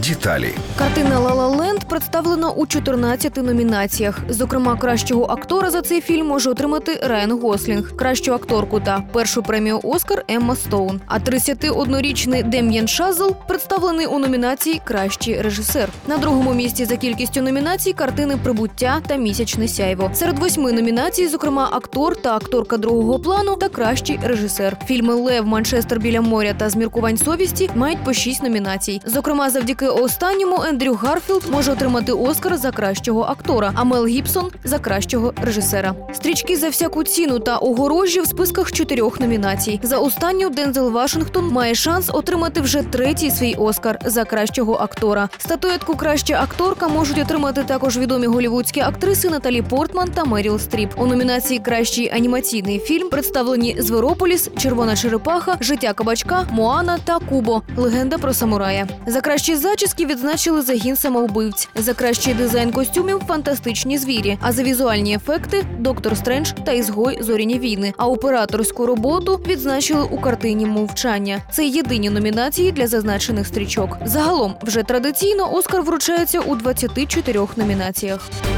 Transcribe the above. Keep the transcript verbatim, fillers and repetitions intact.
Деталі. Картина «Ла Ла Ленд» представлена у чотирнадцяти номінаціях. Зокрема, кращого актора за цей фільм може отримати Райан Гослінг, кращу акторку та першу премію «Оскар» Емма Стоун. А тридцятиоднорічний Дем'єн Шазел представлений у номінації «Кращий режисер». На другому місці за кількістю номінацій картини «Прибуття» та «Місячне сяйво». Серед восьми номінацій, зокрема, актор та акторка другого плану та кращий режисер. Фільми «Лев», «Манчестер біля моря» та «Зміркувань совісті» мають по шість номінацій. Зокрема, завдяки останньому Ендрю Гарфілд може отримати «Оскар» за кращого актора, а Мел Гібсон – за кращого режисера. «Стрічки за всяку ціну» та «Огорожі» в списках чотирьох номінацій. За останню Дензел Вашингтон має шанс отримати вже третій свій «Оскар» за кращого актора. Статуетку «Краща акторка» можуть отримати також відомі голлівудські актриси Наталі Портман та Меріл Стріп. У номінації «Кращий анімаційний фільм» представлені «Зверополіс», «Червона черепаха», «Життя кабачка», «Моана» та «Кубо. Легенда про самурая». За кращі зачіски відзначили «Загін самовбивць», за кращий дизайн костюмів «Фантастичні звірі», а за візуальні ефекти «Доктор Стрендж» та «Ізгой. Зоряні війни». А операторську роботу відзначили у картині «Мовчання». Це єдині номінації для зазначених стрічок. Загалом, вже традиційно «Оскар» вручається у двадцяти чотирьох номінаціях.